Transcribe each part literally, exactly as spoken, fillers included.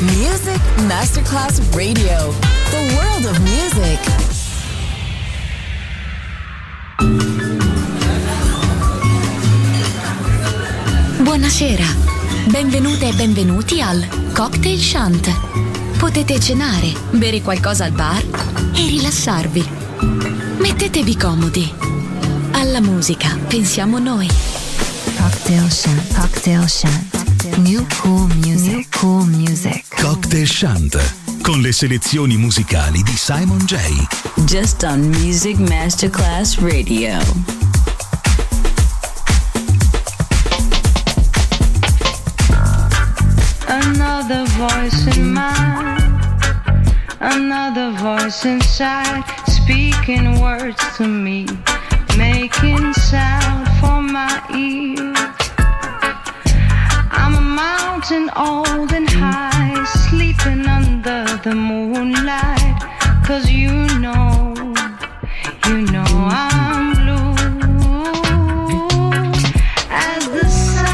Music Masterclass Radio. The world of music. Buonasera, benvenute e benvenuti al Cocktail Shant. Potete cenare, bere qualcosa al bar e rilassarvi. Mettetevi comodi. Alla musica pensiamo noi. Cocktail Shant, Cocktail Shant. New cool music, New cool music. Cocktail Shant, con le selezioni musicali di Simon J. Just on Music Masterclass Radio. Another voice in mind, another voice inside, speaking words to me, making sound for my ears. I'm a mountain old and high, sleeping under the moonlight, 'cause you know, you know I'm blue as the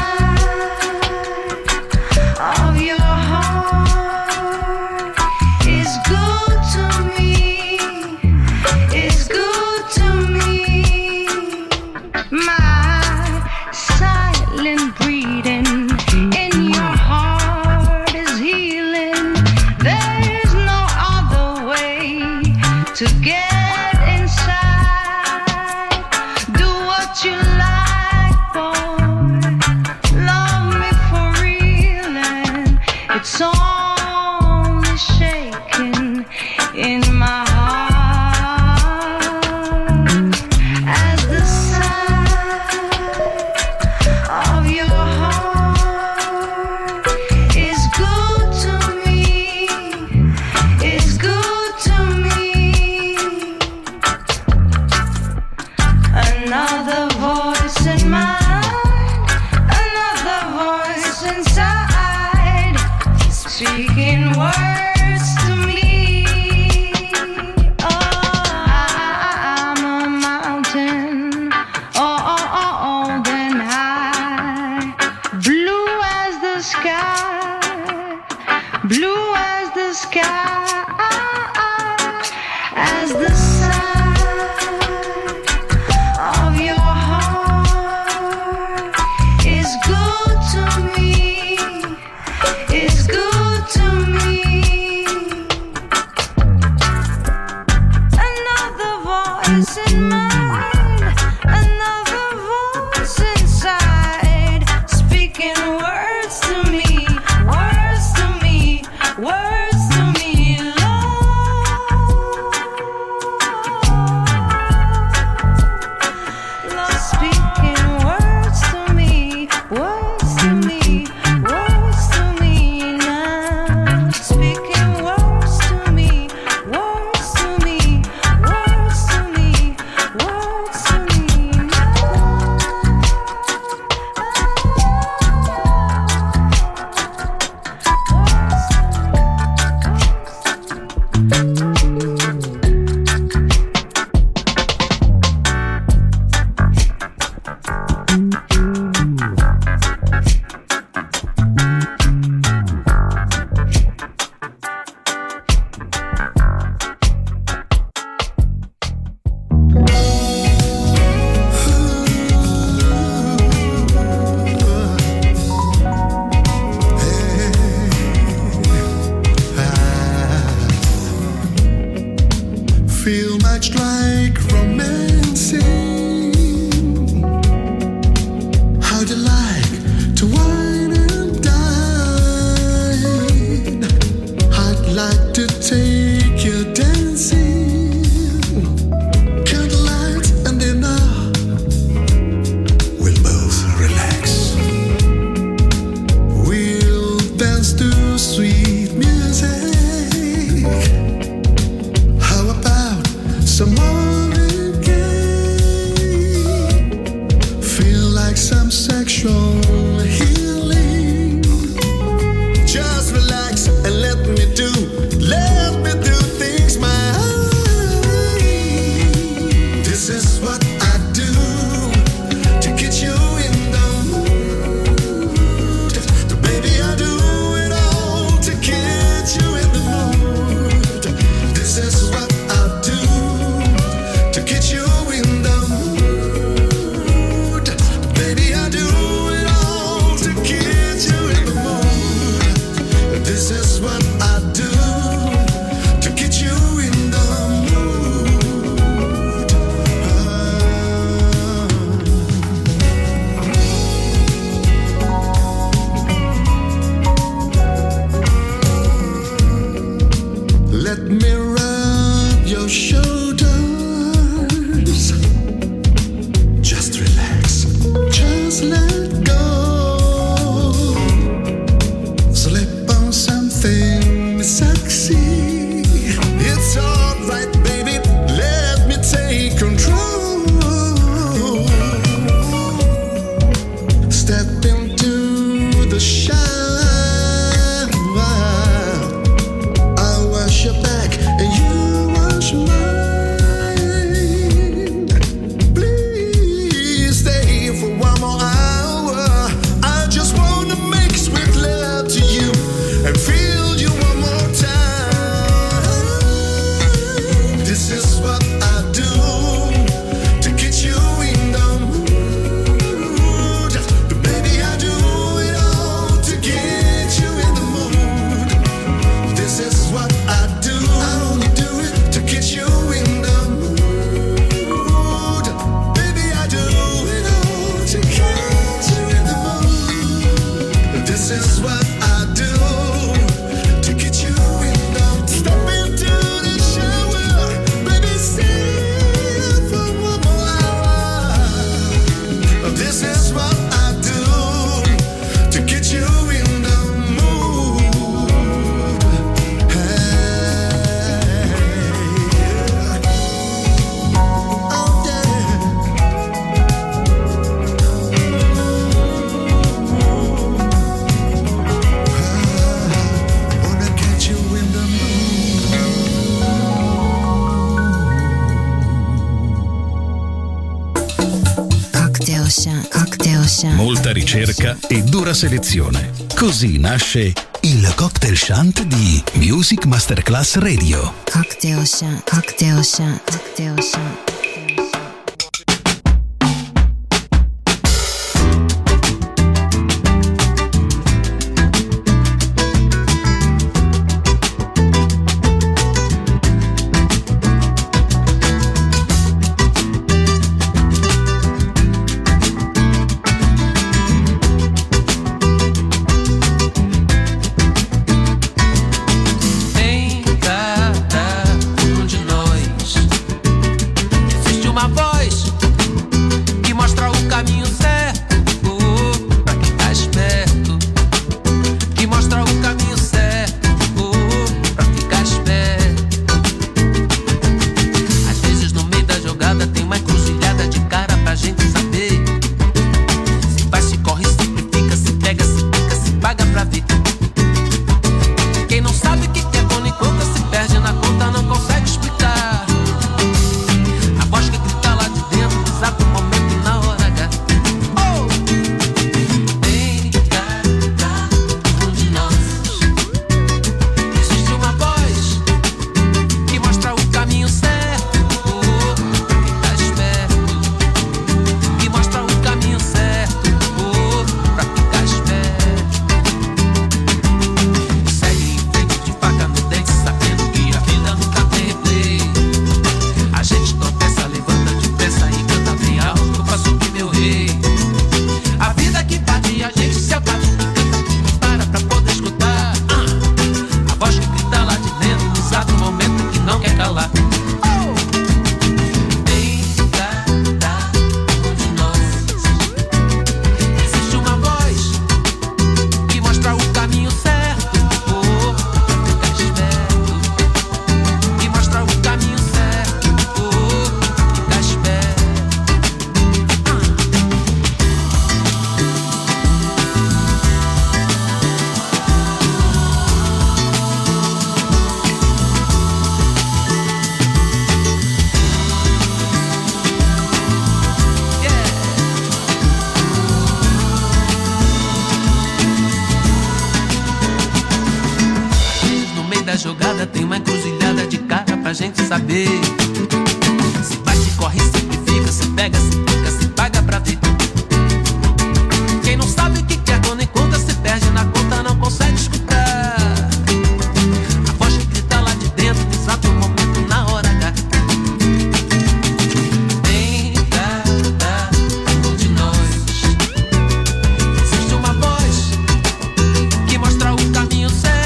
side of your heart is good to me, is good to me. My silent breathing in your heart is healing. There's no other way to get inside. Do what you like, boy. Love me for real, and it's only shaking in my heart as the side of your heart is good to me, is good to me. Another voice in mind, another voice inside, speaking words to me. Oh, I'm a mountain, oh, oh, oh, old and high, blue as the sky, blue as the sky, as the side of your heart is good to me, is good to me. Another voice in mind, another voice inside, speaking words to me, words to me, words to me, love, love, speaking words to me, words to me, words to me now, speaking words to me, words to me, words to me, words to me Feel much like romancing. How'd you like to wine and dine? I'd like to take you dancing. Candlelight and dinner, we'll both relax. We'll dance to sweet music. How about some more again? Ocean. Molta ricerca e dura selezione. Così nasce il Cocktail Shant di Music Masterclass Radio. Cocktail Shant. Cocktail Shant. Cocktail Shant. jogada tem uma encruzilhada de cara pra gente saber. Se bate, corre, simplifica, se pega, se fica, se paga pra ver. Quem não sabe o que quer quando encontra se perde na conta, não consegue escutar a voz que grita lá de dentro, no exato momento, na hora H. Em cada um de nós existe uma voz que mostra o caminho certo.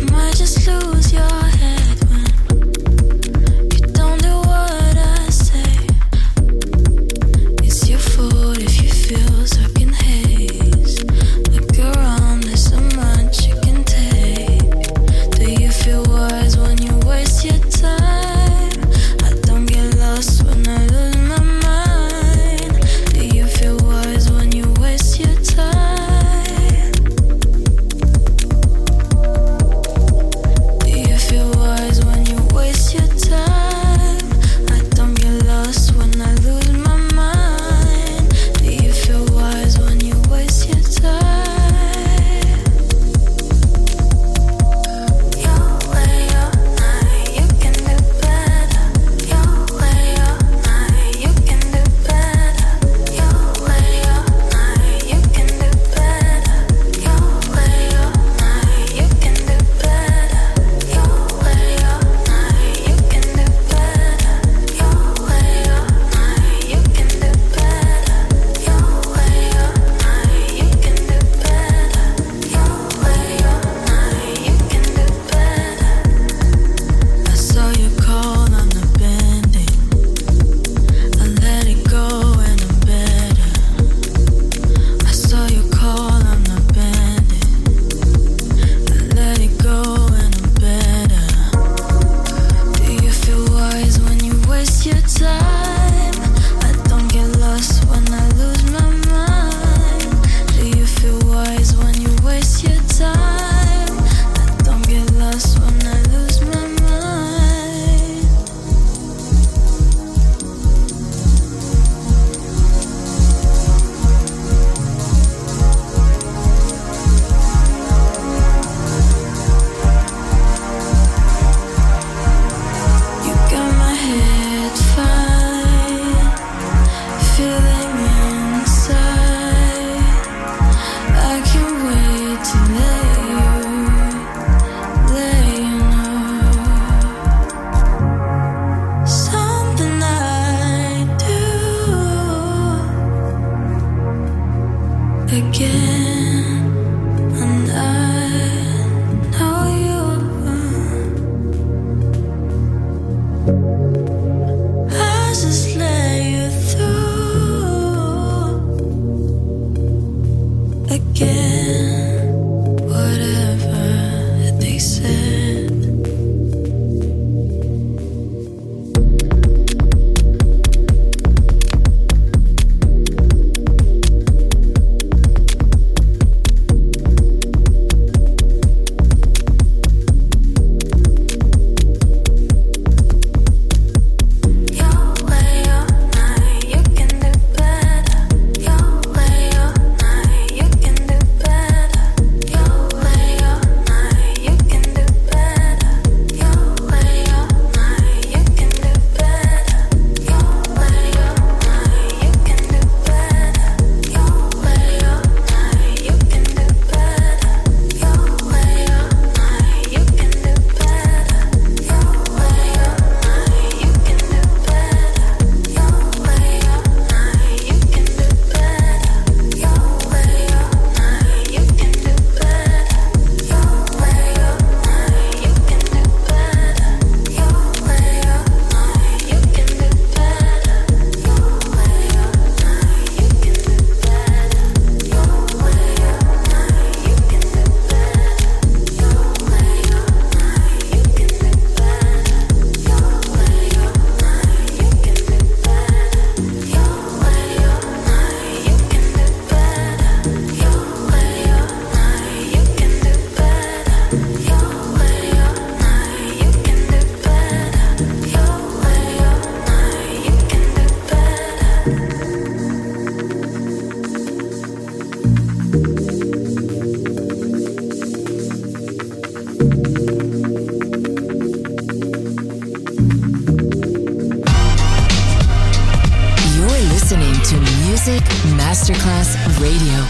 Say to Music Masterclass Radio.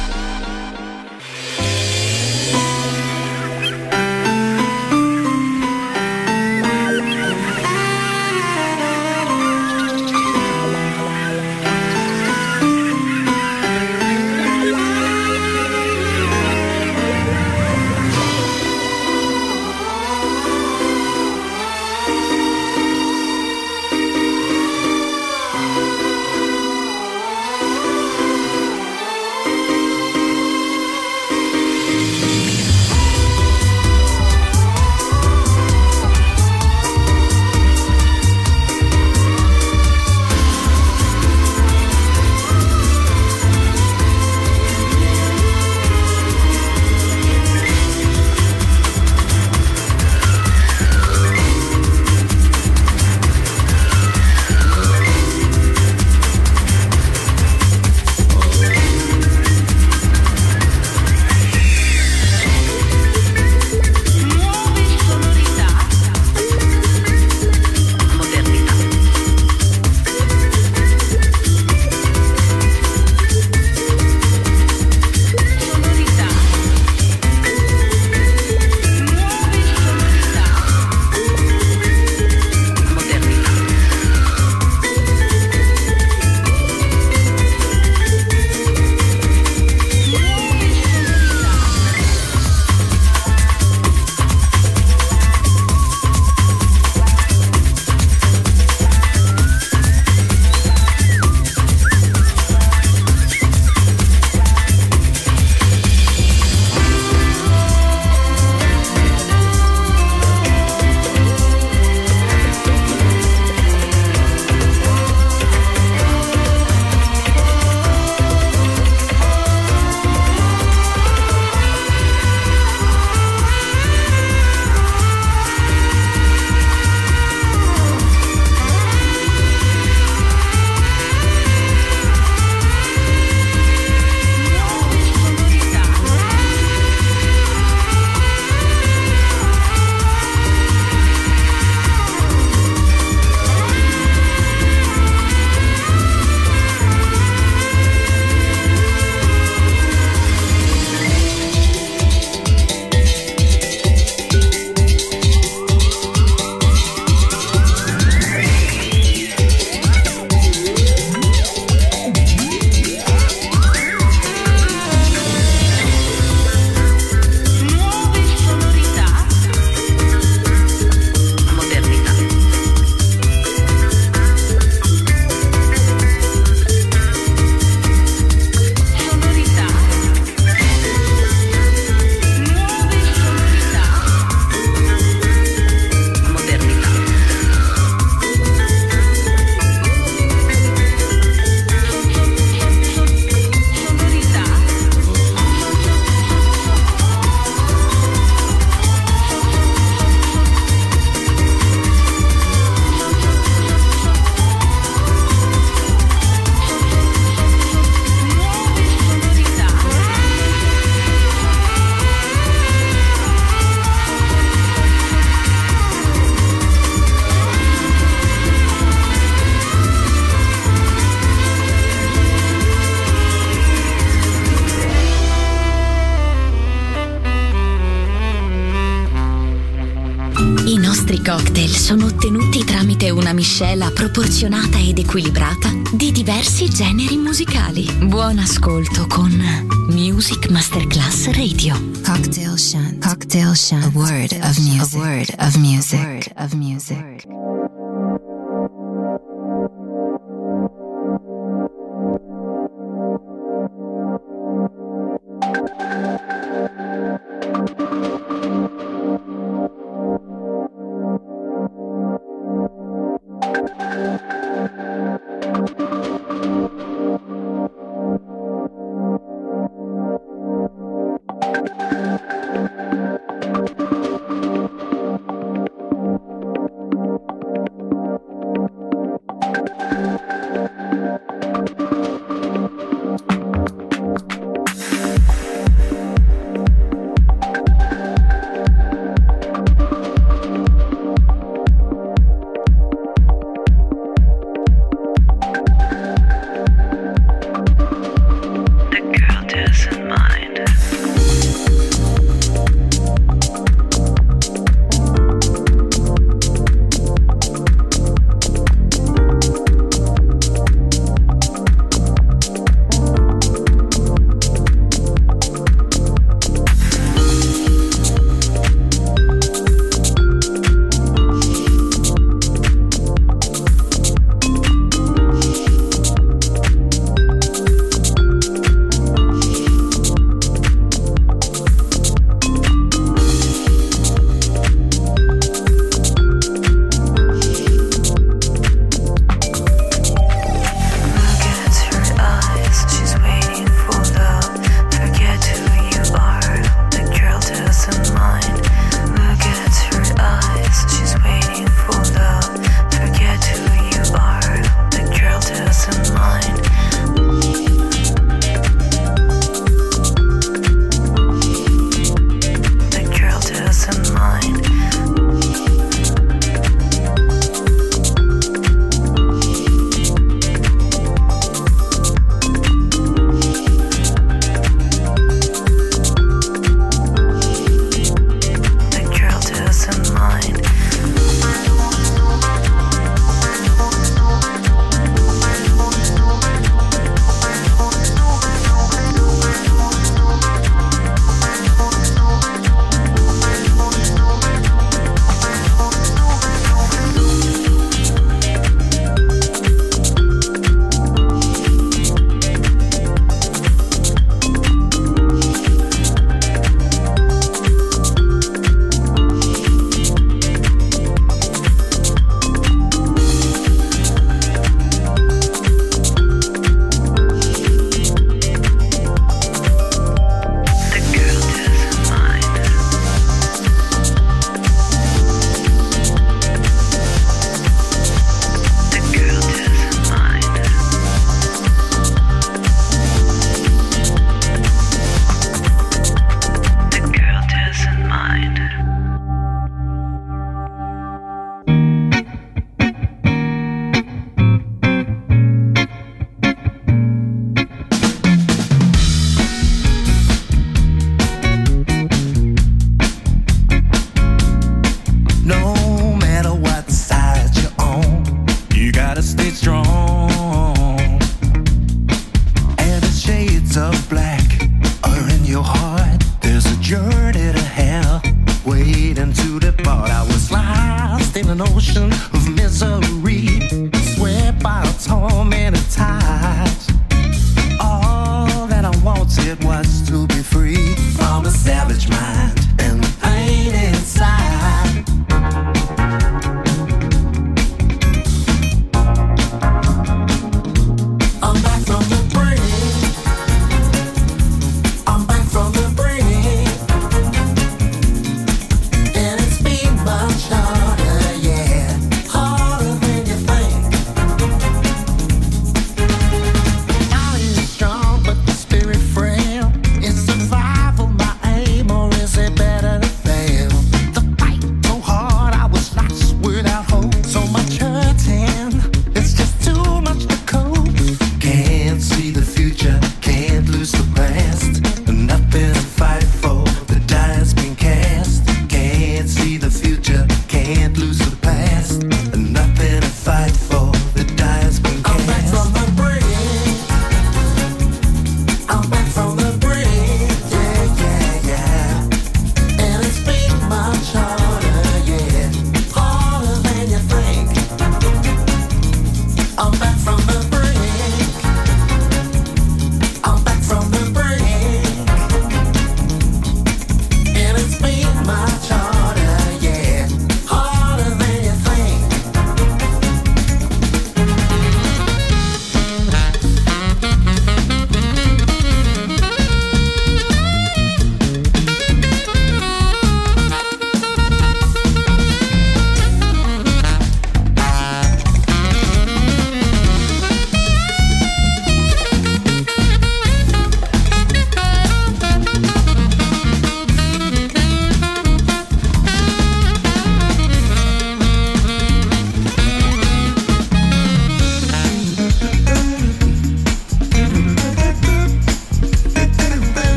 Cocktail sono ottenuti tramite una miscela proporzionata ed equilibrata di diversi generi musicali. Buon ascolto con Music Masterclass Radio. Cocktail Shant. Cocktail Shant. A word of music. A word of music. A word of music.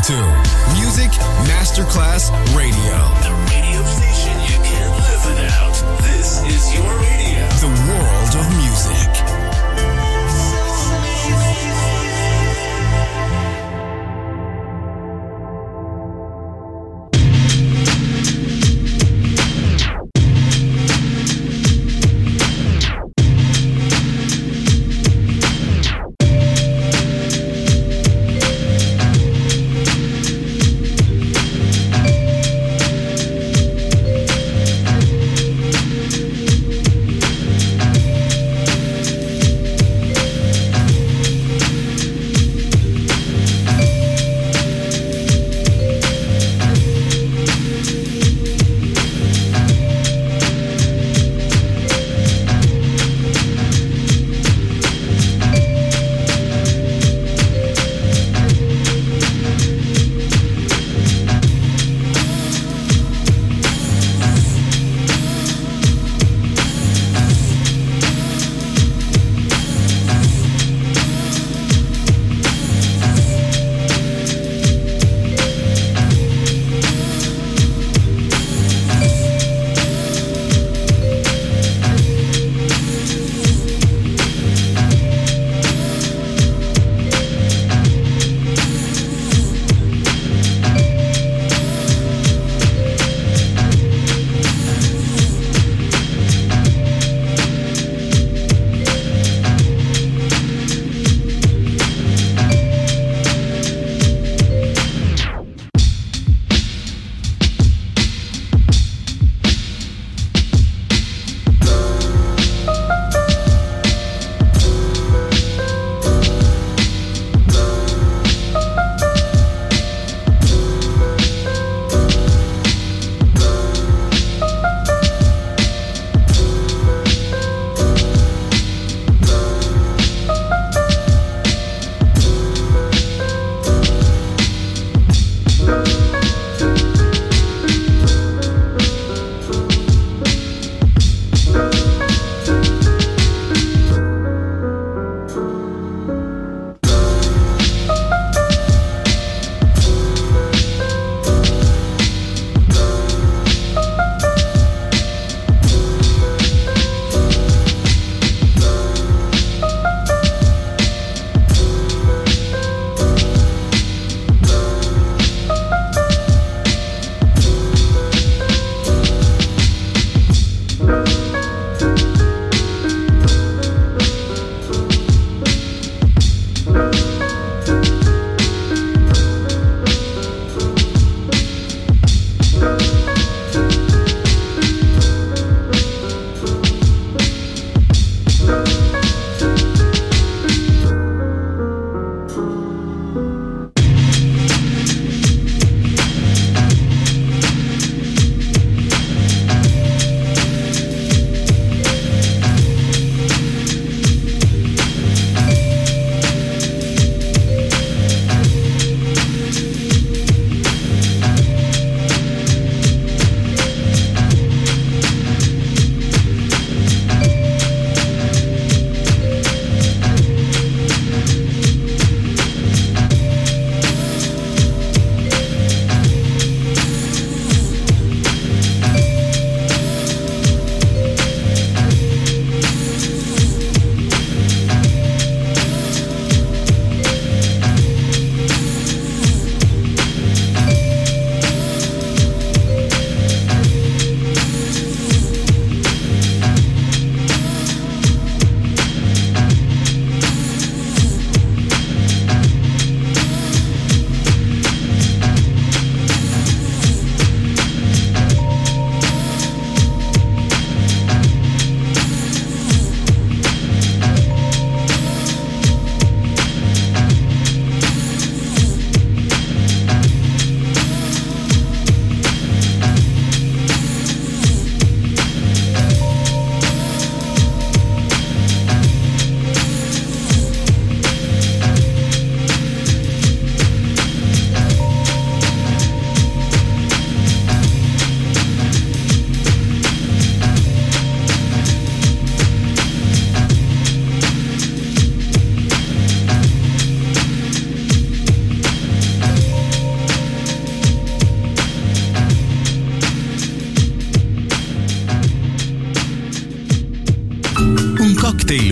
to Music Masterclass Radio. The radio station you can't live without. This is your radio. The world of music.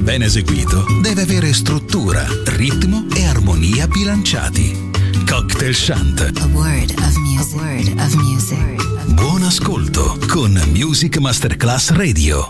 ben eseguito deve avere struttura, ritmo e armonia bilanciati. Cocktail Chant. A word of music. A word of music. Buon ascolto con Music Masterclass Radio.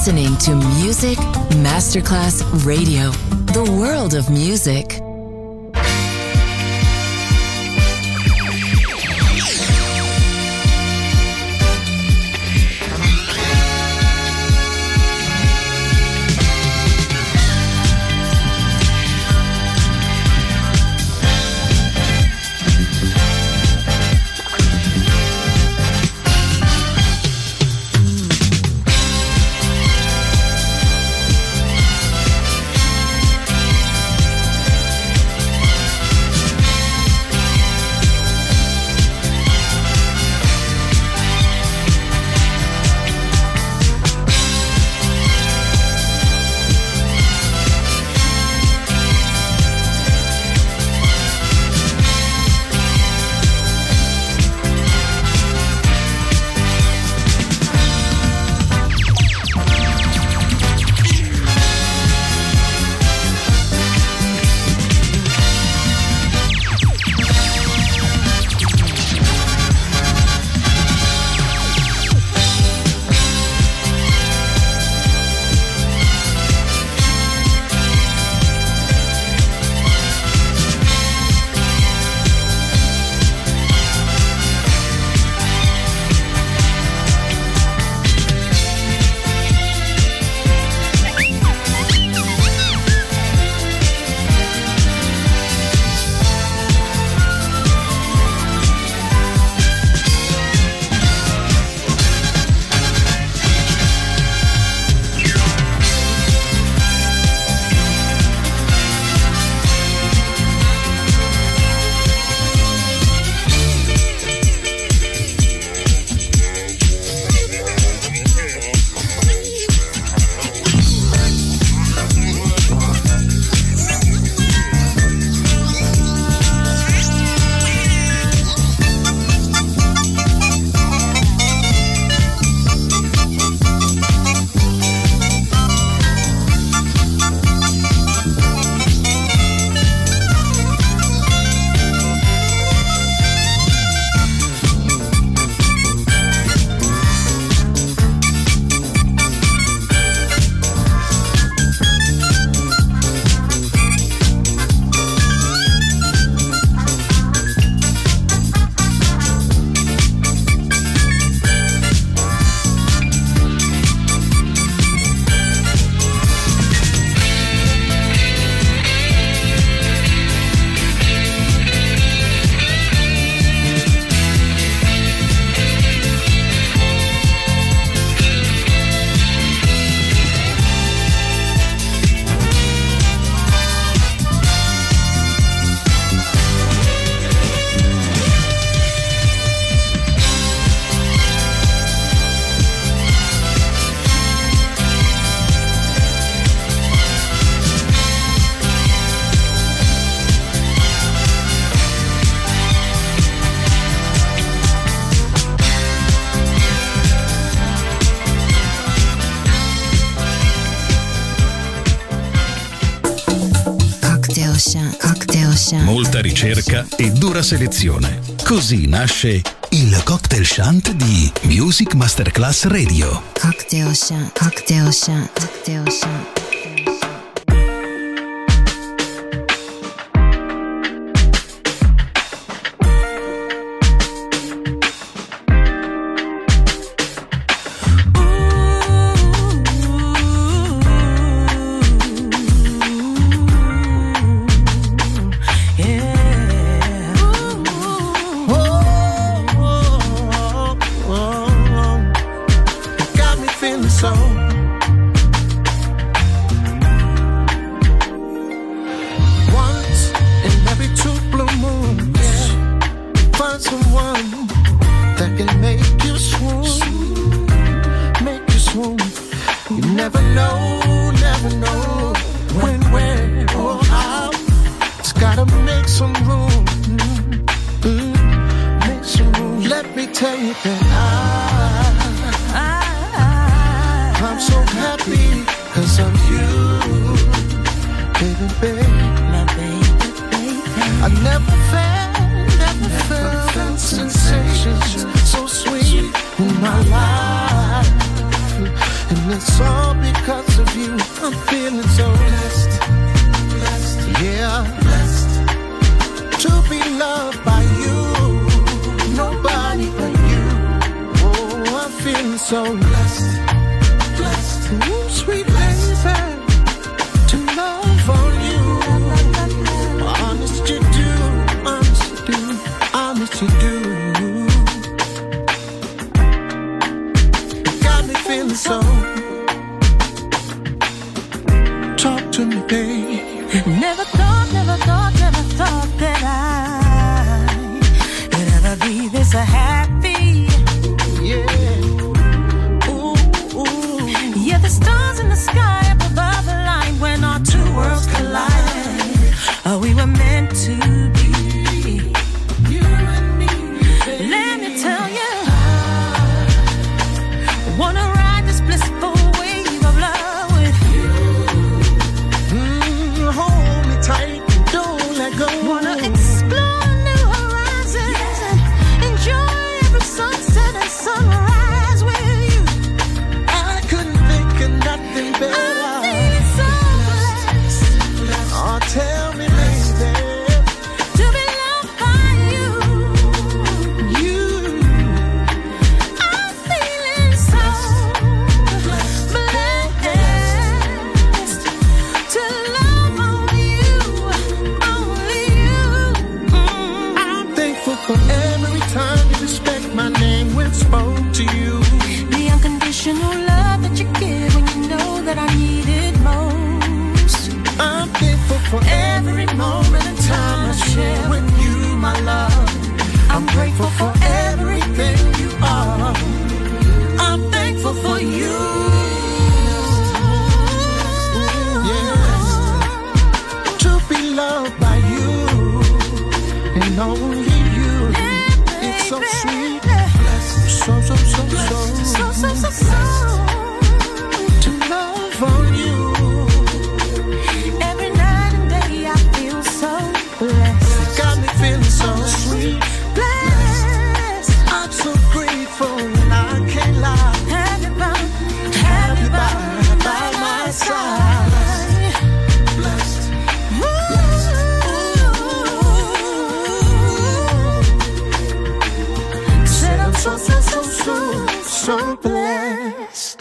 listening to Music Masterclass Radio, the world of music. Molta ricerca e dura selezione. Così nasce il Cocktail Shant di Music Masterclass Radio. Cocktail Shant, Cocktail Shant, Cocktail Shant. And it's all because of you. I'm feeling so blessed, blessed, yeah, blessed to be loved by you. Nobody but you. Oh, I'm feeling so blessed, blessed. Ooh, sweet baby, to love on you. Honest you do, honest you do, honest you do. Got me feeling so. Talk to me, baby. Never thought, never thought, never thought that I could ever be this happy. Yeah. Ooh, ooh. Yeah, the stars in the sky up above aligned when our two worlds collided. Oh, we were meant to be. You and me. Let me tell you, I wanna ride this blissful wave of love with you. Mm, hold me tight, don't let go. Wanna explore new horizons and enjoy every sunset and sunrise with you. I couldn't think of nothing better. I'm feeling so blessed. Oh, tell me, baby, To be loved by you. you. I'm feeling so blessed to love only you, only you. Mm. I'm thankful for every time you respect my name when spoke to you. The unconditional love that you give when you know that I need it most. I'm thankful for every moment and time I share with you, my love. I'm grateful for everything you are. I'm thankful for you. Yes, to be loved by you and only you. It's so sweet, so so so so So, so, so, so. to love on you. Every night and day I feel so blessed. Got me feeling so sweet. Blessed. I'm so grateful and I can't lie. Have you by, Have you by, by my side. Blessed, Said I'm so, so, so, so, so blessed.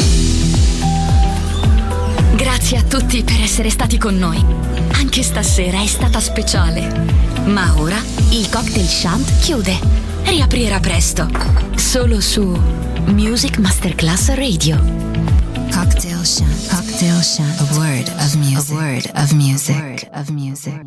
Grazie a tutti per essere stati con noi. Anche stasera è stata speciale. Ma ora il Cocktail Shant chiude. Riaprirà presto. Solo su Music Masterclass Radio. Cocktail Shant. Cocktail Shant. A word of music. A word of music. A word of music.